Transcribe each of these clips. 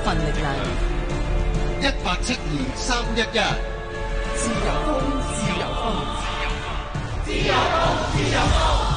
份力量。 1872-311 自由風，自由風， 自由風，自由風。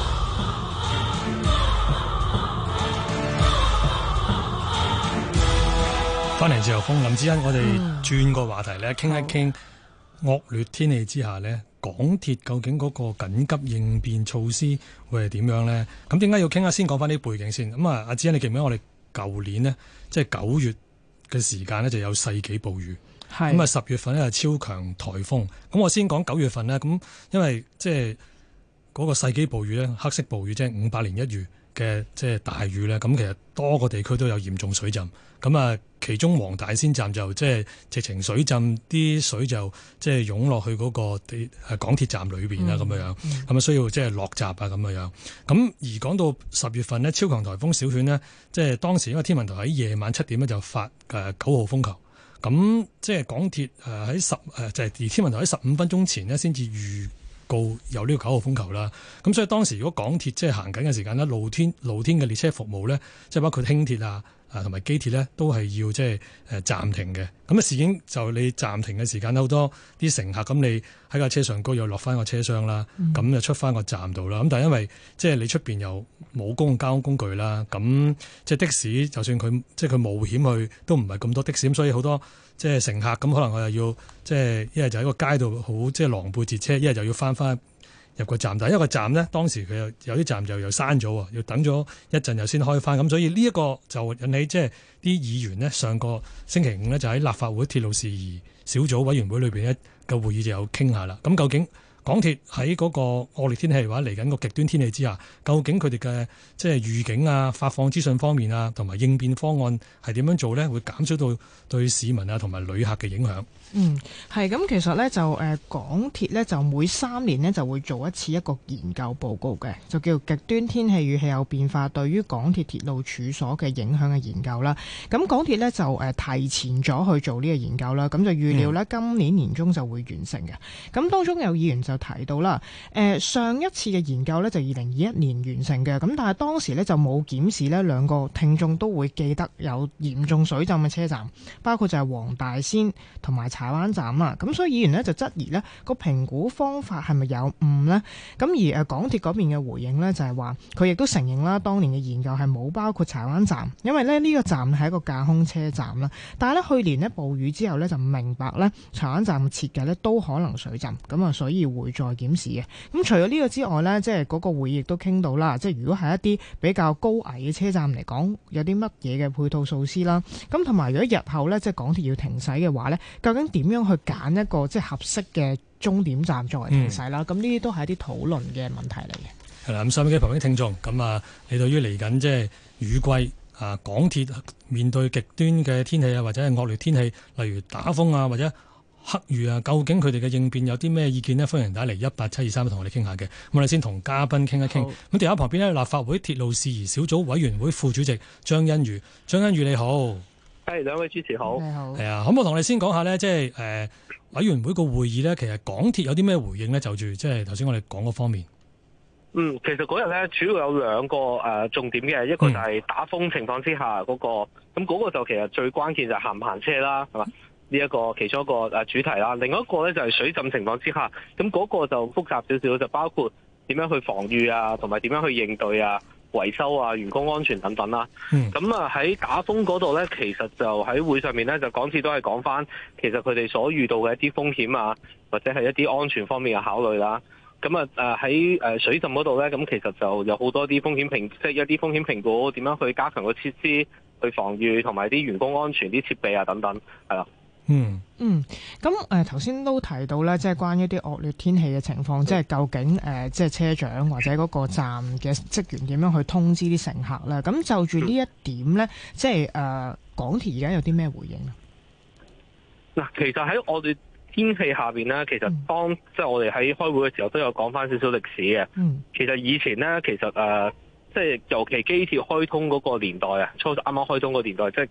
翻嚟自由風，林志恩，我哋轉個話題咧，傾一傾惡劣天氣之下咧，港鐵究竟嗰個緊急應變措施會係點樣咧？咁點解要傾啊？先講翻啲背景先。咁啊，阿志恩，你記唔記得我哋舊年呢，即係9月嘅時間呢，就有世紀暴雨。咁啊，10月份呢，係超強颱風。咁我先講9月份呢，咁因為即係嗰個世紀暴雨咧，黑色暴雨即係500年一遇嘅即係大雨咧，咁其實多個地區都有嚴重水浸。咁啊，其中黃大仙站就即係直情水浸，啲水就即係湧落去嗰個港鐵站裏邊啦，咁樣咁啊需要即係落閘啊咁樣。咁而講到10月份呢，超強颱風小犬呢，即係當時因為天文台喺夜晚7點咧就發9號風球。咁即係港鐵喺就係而天文台喺15分鐘前呢先至預告有呢個9號風球啦。咁所以當時如果港鐵即係行緊嘅時間呢，路天嘅列車服務呢，即係包括輕鐵啊同埋機鐵呢，都係要即係暫停嘅。咁啊，事件就你暫停嘅時間好多啲乘客，咁你喺架車上高又落翻個車廂啦，咁就出翻個站度啦。咁但係因為即係你出邊又冇公共交通工具啦，咁即係的士，就算佢即係佢冒險去，都唔係咁多的士，咁所以好多即係乘客咁可能我又要即係一係就喺個街度好即係狼狽截車，一係就要翻入個站，但係因為個站呢，當時佢有啲站就又閂咗，要等咗一陣又先開翻，咁所以呢一個就引起即係啲議員呢，上個星期5呢，就喺立法會鐵路事宜小組委員會裏邊呢個會議就有傾下啦。咁究竟港鐵喺嗰個惡劣天氣或者嚟緊個極端天氣之下，究竟佢哋嘅即係預警啊、發放資訊方面啊，同埋應變方案係點樣做呢？會減少到對市民啊同埋旅客嘅影響。 係咁，其實咧就港鐵咧就每3年呢就會做一次一個研究報告嘅，就叫極端天氣與氣候變化對於港鐵鐵路處所嘅影響嘅研究啦。咁港鐵咧就提前咗去做呢個研究啦，咁就預料咧今年年中就會完成嘅。咁當中有議員就提到啦，上一次嘅研究咧就2021年完成嘅，咁但係當時咧就冇檢視呢兩個聽眾都會記得有嚴重水浸嘅車站，包括就係黃大仙同埋柴灣站啦，咁所以議員呢就質疑呢個評估方法係咪有誤呢？咁而港鐵嗰邊嘅回應呢，就係話佢亦都承認啦，當年嘅研究係冇包括柴灣站，因為呢個站係一個架空車站啦。但係呢去年呢暴雨之後呢，就明白呢柴灣站嘅設計呢都可能水浸，咁啊所以會再檢視嘅。咁除咗呢個之外呢，即係嗰個會議亦都傾到啦，即係如果係一啲比較高危嘅車站嚟講，有啲乜嘢嘅配套措施啦。咁同埋如果日後呢，即係港鐵要停駛嘅話呢，究竟點樣去揀一個即係合適嘅終點站作為停駛啦？咁呢啲都係一啲討論嘅問題嚟嘅。 係啦，咁收音機旁邊聽眾，咁啊，你對於嚟緊即係雨季啊，港鐵面對極端嘅天氣啊，或者係惡劣天氣，例如打風啊，或者黑雨啊，究竟佢哋嘅應變有啲咩意見呢？歡迎打嚟18723同我哋傾下嘅。咁我哋先同嘉賓傾一傾。咁電話旁邊呢，立法會鐵路事宜小組委員會副主席張欣宇，張欣宇你好。 係，兩位主持好。 你好。 係啊，可唔可以同你先講下呢？即係委員會個會議呢，其實港鐵有啲咩回應呢？就住即係頭先我哋講嗰方面。 其實嗰日咧主要有兩個重點嘅，一個就係打風情況之下嗰個，咁嗰個就其實最關鍵就係行唔行車啦，係嘛？呢一個其中一個主題啦。另外一個咧就係水浸情況之下，咁嗰個就複雜少少，就包括點樣去防禦啊，同埋點樣去應對啊、維修啊、員工安全等等啦。咁喺打風嗰度咧，其實就喺會上面咧，就港鐵都係講翻，其實佢哋所遇到嘅一啲風險啊，或者係一啲安全方面嘅考慮啦。咁喺水浸嗰度咧，咁其實就有好多啲風險即係一啲風險評估，點樣去加強個設施去防禦，同埋啲員工安全啲設備啊等等，係啦。 咁頭先都提到咧，即係關於啲惡劣天氣嘅情況，即係究竟即係車長或者嗰個站嘅職員點樣去通知啲乘客咧？咁就住呢一點咧，即係港鐵而家有啲咩回應啊？ 嗱，其實喺我哋天氣下邊咧，其實當即係我哋喺開會嘅時候都有講翻少少歷史嘅。其實以前咧，其實即係尤其機鐵開通嗰個年代啊，啱啱開通嗰個年代，即係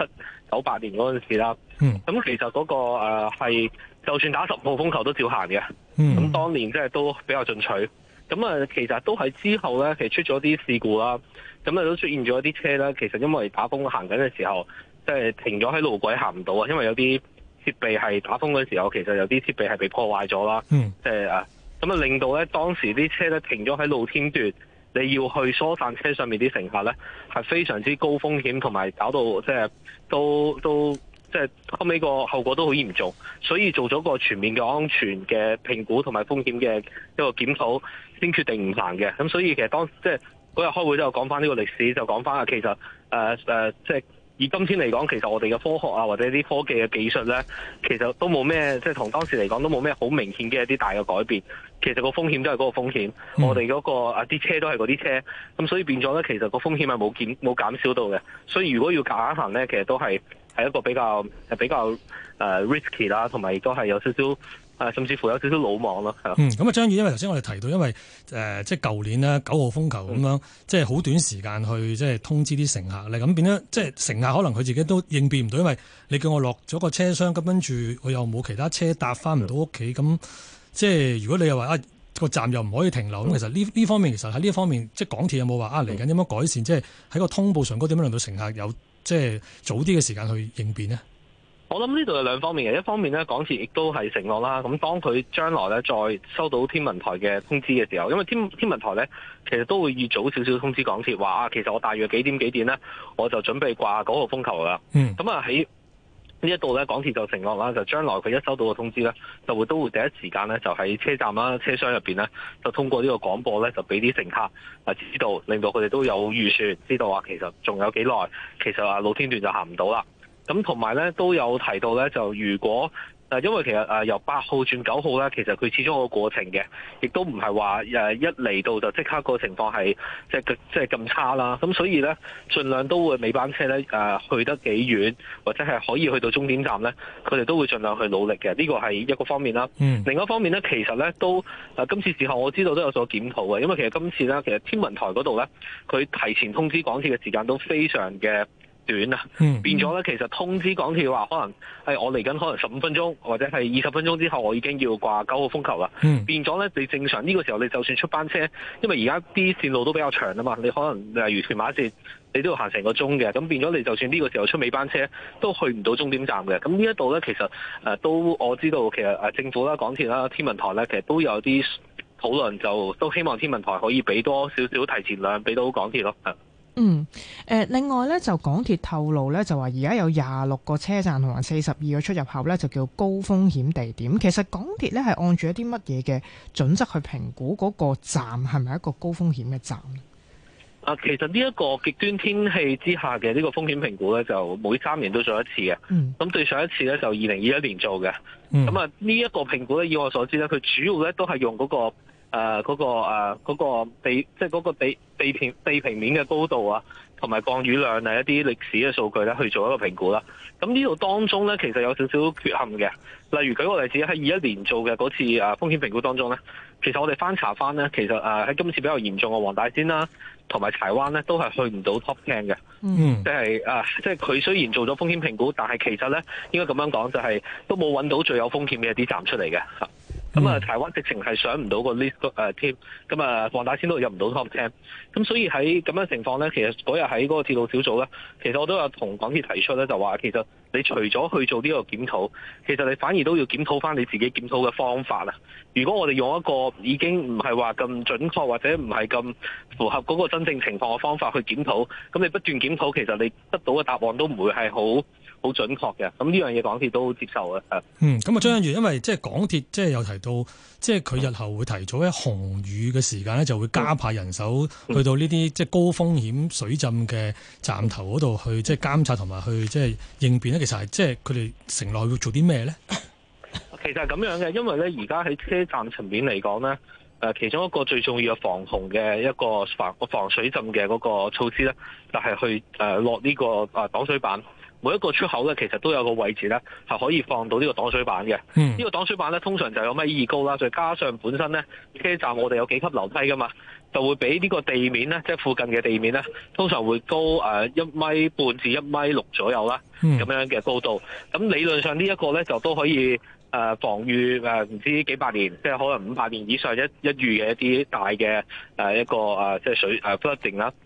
97、98年嗰陣時啦。咁其實嗰個係就算打10號風球都照行嘅。咁當年即係都比較進取。咁其實都係之後咧，其實出咗啲事故啦。咁都出現咗啲車咧，其實因為打風行緊嘅時候， 即係停咗喺路軌行唔到啊，因為有啲設備係打風嗰時候，其實有啲設備係被破壞咗啦。即係咁啊，令到咧當時啲車咧停咗喺露天段，你要去疏散車上面啲乘客咧，係非常之高風險，同埋搞到即係都即係後尾個後果都好嚴重，所以做咗個全面嘅安全嘅評估同埋風險嘅一個檢討，先決定唔行嘅。咁所以其實即係嗰日開會都有講翻呢個歷史，就講翻其實即係以今天嚟講，其實我哋嘅科學啊或者啲科技嘅技術咧，其實都冇咩即係同當時嚟講都冇咩好明顯嘅一啲大嘅改變。其實個風險都係嗰個風險，我哋嗰個啲車都係嗰啲車，咁所以變咗咧，其實個風險係冇減少到嘅。所以如果要夾硬行咧，其實都係一個比較risky 啦，同埋亦都係有少少甚至乎有少少魯莽咯，係咯。 咁啊，張宇，因為頭先我哋提到，因為即係舊年咧9號風球咁樣，即係好短時間去即係通知啲乘客咧，咁變咗即係乘客可能佢自己都應變唔到，因為你叫我落咗個車廂，咁跟住我又冇其他車搭翻唔到屋企，咁即係如果你又話個站又唔可以停留，咁其實呢方面其實喺呢一方面，即係港鐵有冇話嚟緊點樣改善，即係喺個通報上高點樣令到乘客有即係早啲嘅時間去應變呢？ 我諗呢度有兩方面嘅，一方面咧，港鐵亦都係承諾啦。咁當佢將來咧再收到天文台嘅通知嘅時候，因為天文台咧其實都會預早少少通知港鐵話其實我大約幾點咧，我就準備掛9號風球啦。咁啊喺呢一度咧，港鐵就承諾啦，就將來佢一收到個通知咧，都會第一時間咧就喺車站啦、車廂入邊咧，就通過呢個廣播咧，就俾啲乘客知道，令到佢哋都有預算，知道話其實仲有幾耐，其實露天段就行唔到啦。咁同埋咧都有提到咧，就如果因為其實由8號轉9號咧，其實佢始終有個過程嘅，亦都唔係話一嚟到就即刻個情況係即係咁差啦。咁所以咧，盡量都會尾班車咧去得幾遠，或者係可以去到終點站咧，佢哋都會盡量去努力嘅。呢個係一個方面啦。另一方面咧，其實咧都今次事後我知道都有所檢討嘅，因為其實今次咧，其實天文台嗰度咧，佢提前通知港鐵嘅時間都非常嘅短啊，變咗咧，其實通知港鐵話可能我嚟緊可能15分鐘或者係20分鐘之後，我已經要掛9號風球啦。變咗咧，你正常呢個時候你就算出班車，因為而家啲線路都比較長啊嘛，你可能例如屯馬線，你都要行成個鐘嘅，咁變咗你就算呢個時候出尾班車，都去唔到終點站嘅。咁呢一度咧，其實都我知道，其實政府啦、港鐵啦、天文台咧，其實都有啲討論，就都希望天文台可以俾多少少提前量俾到港鐵咯。 另外咧就港鐵透露咧，就話而家有26個車站同埋42個出入口咧，就叫高風險地點。其實港鐵咧係按住一啲乜嘢嘅準則去評估嗰個站係咪一個高風險嘅站？ 其實呢一個極端天氣之下嘅呢個風險評估咧，就每3年都做一次嘅。咁對上一次咧就2021年做嘅。咁啊呢一個評估咧，以我所知咧，佢主要咧都係用嗰個地，即係嗰個地平面嘅高度啊，同埋降雨量一啲歷史嘅數據咧去做一個評估啦。咁呢度當中咧，其實有少少缺陷嘅。例如舉個例子，喺21年做嘅嗰次風險評估當中咧，其實我哋翻查翻咧，其實喺今次比較嚴重嘅黃大仙啦，同埋柴灣咧，都係去唔到 Top 10嘅。即係佢雖然做咗風險評估，但係其實咧應該咁樣講，就係都冇揾到最有風險嘅一啲站出嚟嘅。咁柴灣直情係上唔到個 list 添，咁黃大仙都入唔到 Top 10。咁所以喺咁樣情況咧，其實嗰日喺嗰個鐵路小組咧，其實我都有同港鐵提出咧，就話其實你除咗去做呢個檢討，其實你反而都要檢討翻你自己檢討嘅方法啦。如果我哋用一個已經唔係話咁準確或者唔係咁符合嗰個真正情況嘅方法去檢討，咁你不斷檢討，其實你得到嘅答案都唔會係好準確嘅。咁呢樣嘢港鐵都接受嘅。 咁啊張欣宇，因為即係港鐵即係有提到，即係佢日後會提早喺紅雨嘅時間咧，就會加派人手去到呢啲即係高風險水浸嘅站頭嗰度去即係監察同埋去即係應變咧。其實係即係佢哋承諾會做啲咩咧？ 其實係咁樣嘅，因為咧而家喺車站層面嚟講咧，其中一個最重要嘅防洪嘅一個防水浸嘅嗰個措施咧，就係去落呢個擋水板。每一個出口咧，其實都有個位置咧，係可以放到呢個擋水板嘅。呢個擋水板咧，通常就有米2高啦，再加上本身咧車站我哋有幾級樓梯噶嘛，就會比呢個地面咧，即係附近嘅地面咧，通常會高1.5米至1.6米左右啦，咁樣嘅高度。咁理論上呢一個咧就都可以防禦唔知幾百年，即係可能500年以上一遇嘅一啲大嘅一個即係水flooding啦。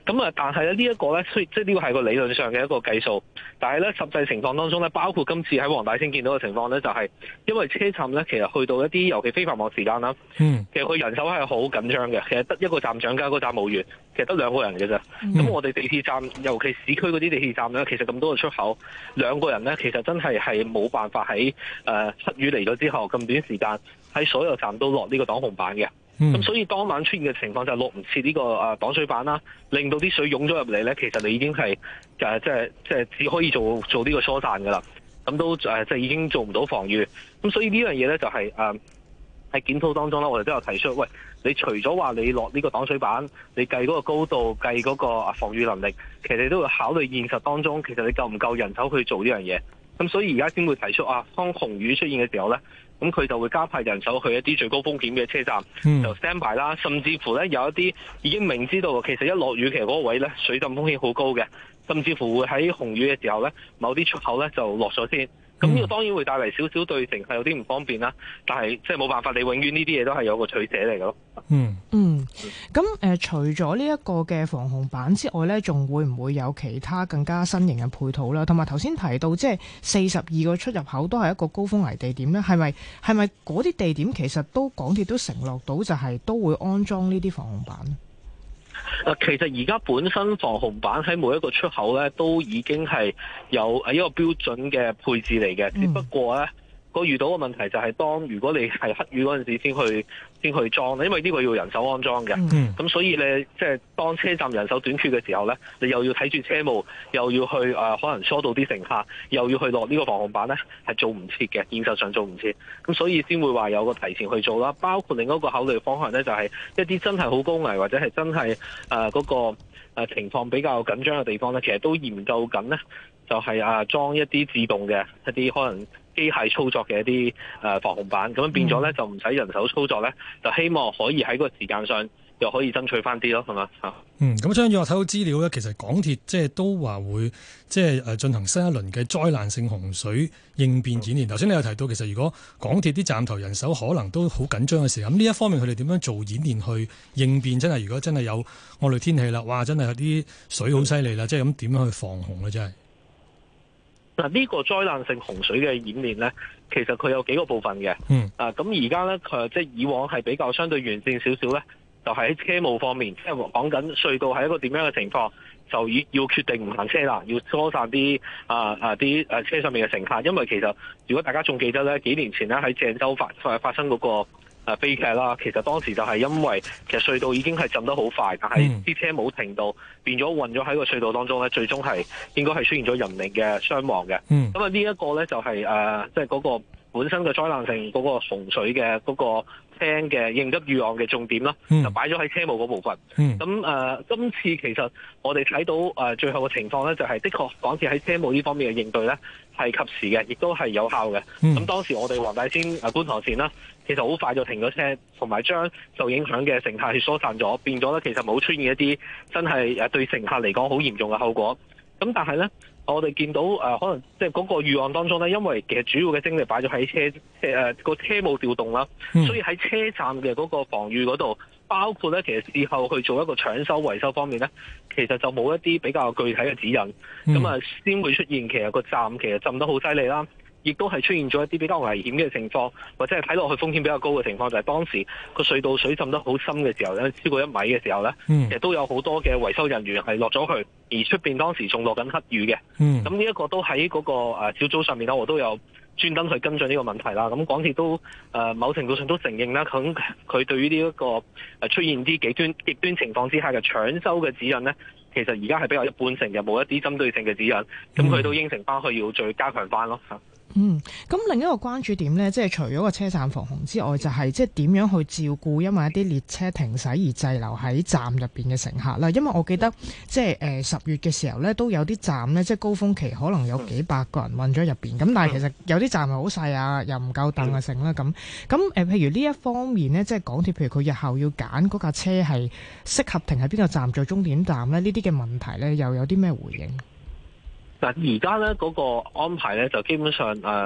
咁但係咧呢一個咧，即係呢個係個理論上嘅一個計數，但係咧實際情況當中咧，包括今次喺黃大仙見到嘅情況咧，就係因為車站咧，其實去到一啲尤其非繁忙時間啦，其實佢人手係好緊張嘅，其實得一個站長加個站務員，其實得2個人嘅啫。咁我哋地鐵站，尤其市區嗰啲地鐵站咧，其實咁多個出口，2個人咧，其實真係冇辦法喺黑雨嚟咗之後咁短時間喺所有站都落呢個擋洪板嘅。咁所以當晚出現嘅情況就係落唔切呢個擋水板啦，令到啲水湧咗入嚟咧，其實你已經係即係只可以做呢個疏散噶啦，咁都即係已經做唔到防禦。咁所以呢樣嘢咧就係喺檢討當中啦，我哋都有提出，喂，你除咗話你落呢個擋水板，你計嗰個高度，計嗰個防禦能力，其實你都要考慮現實當中，其實你夠唔夠人手去做呢樣嘢。咁所以而家先會提出當紅雨出現嘅時候咧，咁佢就會加派人手去一啲最高風險嘅車站，就 stand by 啦，甚至乎咧有一啲已經明知道其實一落雨其實嗰個位咧水浸風險好高嘅，甚至乎會喺紅雨嘅時候咧，某啲出口咧就落咗先。咁呢個當然會帶嚟少少對乘客有啲唔方便啦，但係即係冇辦法，你永遠呢啲嘢都係有個取捨嚟嘅咯。 咁除咗呢一個嘅防洪板之外咧，仲會唔會有其他更加新型嘅配套啦？同埋頭先提到即係42個出入口都係一個高風危地點咧，係咪嗰啲地點其實港鐵都承諾到就係都會安裝呢啲防洪板？ 其實而家本身防洪板喺每一個出口咧，都已經係有一個標準嘅配置嚟嘅，只不過咧遇到嘅問題就係如果你係黑雨嗰陣時先去裝，因為呢個要人手安裝嘅。咁所以你即係當車站人手短缺嘅時候咧，你又要睇住車務，又要去可能疏導啲乘客，又要去落呢個防洪板咧，係做唔切嘅，現實上做唔切。咁所以先會話有個提前去做啦。包括另一個考慮方向咧，就係一啲真係好高危或者係真係嗰個情況比較緊張嘅地方咧，其實都研究緊咧，就係裝一啲自動嘅一啲可能機械操作嘅一啲防洪板，咁樣變咗咧就唔使人手操作咧，就希望可以喺個時間上又可以爭取翻啲咯，係嘛？ 咁張宇，我睇到資料咧，其實港鐵即係都話會即係進行新一輪嘅災難性洪水應變演練。頭先你有提到，其實如果港鐵啲站頭人手可能都好緊張嘅時候，咁呢一方面佢哋點樣做演練去應變？真係如果真係有惡劣天氣啦，哇！真係有啲水好犀利啦，即係咁點樣去防洪咧？真係。 嗱，呢個災難性洪水嘅演練咧，其實佢有幾個部分嘅。咁而家咧，即係以往係比較相對完善少少咧，就係喺車務方面，即係講緊隧道係一個點樣嘅情況，就要決定唔行車啦，要疏散啲啲車上面嘅乘客。因為其實如果大家仲記得咧，幾年前咧喺鄭州發生嗰個悲劇啦，其實當時就係因為其實隧道已經係浸得好快，但係啲車冇停到，變咗混咗喺個隧道當中咧，最終係應該係出現咗人命嘅傷亡嘅。咁呢一個咧就係即係嗰個本身嘅災難性嗰個洪水嘅嗰個廳嘅應急預案嘅重點啦，就擺咗喺車務嗰部分。咁今次其實我哋睇到最後嘅情況咧，就係的確港鐵喺車務呢方面嘅應對咧係及時嘅，亦都係有效嘅。咁當時我哋黃大仙觀塘線啦，其實好快就停咗車，同埋將受影響嘅乘客去疏散咗，變咗咧其實冇出現一啲真係對乘客嚟講好嚴重嘅後果。咁但係咧，我哋見到可能即係嗰個預案當中咧，因為其實主要嘅精力擺咗喺個車務調動啦，所以喺車站嘅嗰個防禦嗰度，包括咧其實事後去做一個搶修維修方面咧，其實就冇一啲比較具體嘅指引，咁先會出現其實個站其實浸得好犀利啦。亦都係出現咗一啲比較危險嘅情況，或者係睇落去風險比較高嘅情況，就係當時個隧道水浸得好深嘅時候咧，超過1米嘅時候咧，其實都有好多嘅維修人員係落咗去，而出邊當時仲落緊黑雨嘅。咁呢一個都喺嗰個小組上面啦，我都有專登去跟進呢個問題啦。咁港鐵都某程度上都承認啦，佢對於呢一個出現啲極端情況之下嘅搶修嘅指引咧，其實而家係比較一般性嘅，冇一啲針對性嘅指引。咁佢都應承翻去要再加強翻咯。 咁另一個關注點呢，即係除咗個車站防洪之外，就係即係點樣去照顧因為一啲列車停駛而滯留喺站入邊嘅乘客啦。因為我記得即係10月嘅時候呢，都有啲站呢，即係高峰期可能有幾百個人困咗入邊。咁但係其實有啲站係好細啊，又唔夠凳啊剩啦咁。譬如呢一方面呢，即係港鐵，譬如佢日後要揀嗰架車係適合停喺邊個站做終點站呢，呢啲嘅問題呢，又有啲咩回應？ 嗱，而家咧嗰個安排咧就基本上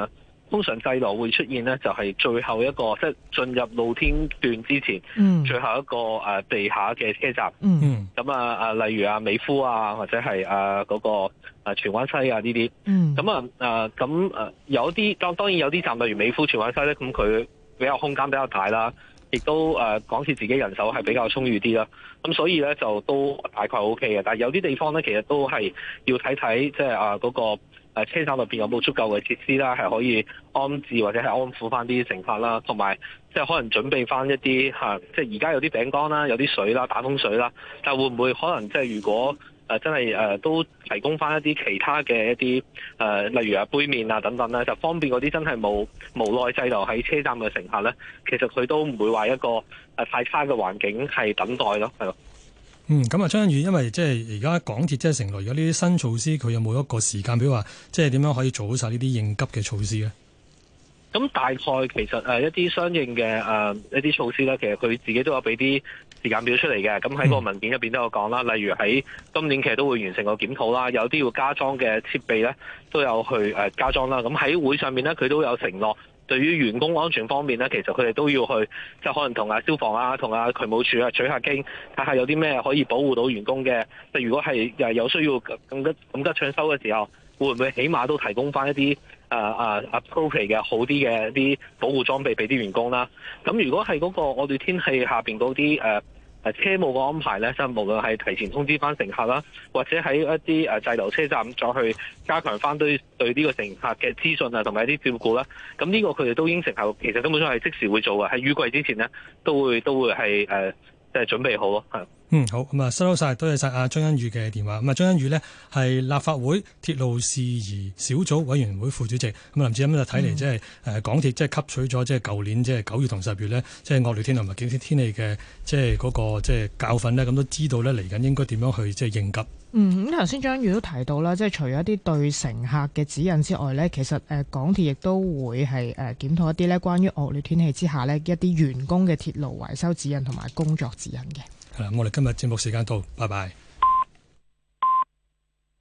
通常滯留會出現呢，就係最後一個即係進入露天段之前，最後一個地下嘅車站。咁例如美孚啊，或者係嗰個荃灣西啊呢啲。咁有啲當然有啲站，例如美孚、荃灣西咧，咁佢比較空間比較大啦，亦都港鐵自己人手係比較充裕啲啦。咁所以咧就都大概 OK 嘅。但係有啲地方咧，其實都係要睇睇，即係嗰個車站入邊有冇足夠嘅設施啦，係可以安置或者係安撫翻啲乘客啦，同埋即係可能準備翻一啲即係而家有啲餅乾啦，有啲水啦，打風水啦，但會唔會可能即係如果真係都提供翻一啲其他嘅一啲例如杯麵啊等等咧，就方便嗰啲真係無奈滯留喺車站嘅乘客咧，其實佢都唔會話一個太差嘅環境係等待咯，係咯。 咁張欣宇，因為即係而家港鐵即係承諾，如果呢啲新措施，佢有冇一個時間表話，即係點樣可以做好晒呢啲應急嘅措施咧？咁大概其實一啲相應嘅一啲措施咧，其實佢自己都有俾啲時間表出嚟嘅。咁喺個文件入邊都有講啦，例如喺今年其實都會完成個檢討啦，有啲要加裝嘅設備咧都有去加裝啦。咁喺會上面咧，佢都有承諾。對於員工安全方面咧，其實佢哋都要去，即係可能同消防啊、同渠務處取下經，睇下有啲咩可以保護到員工嘅。即係如果係有需要咁急搶修嘅時候，會唔會起碼都提供翻一啲appropriate 嘅好啲嘅一啲保護裝備俾啲員工啦？咁如果係嗰個惡劣天氣下邊嗰啲車務嘅安排咧，即係無論係提前通知翻乘客啦，或者喺一啲滯留車站再去加強翻對呢個乘客嘅資訊啊，同埋一啲照顧啦。咁呢個佢哋都應承後，其實根本上係即時會做嘅，喺雨季之前呢，都會係即係準備好咯，係。 好，咁收晒，多謝晒阿張欣宇嘅電話。咁張欣宇呢係立法會鐵路事宜小組委員會副主席。咁林志恩就睇嚟即係港鐵即係吸取咗即係舊年即係9月同10月呢，即係惡劣天同埋極端天氣嘅即係嗰個即係教訓呢，咁都知道呢嚟緊應該點樣去即係應急。 咁頭先張欣宇都提到啦，即係除咗一啲對乘客嘅指引之外呢，其實港鐵亦都會係檢討一啲呢關於惡劣天氣之下呢一啲員工嘅鐵路維修指引同埋工作指引嘅。 係啦，我哋今日節目時間到，拜拜。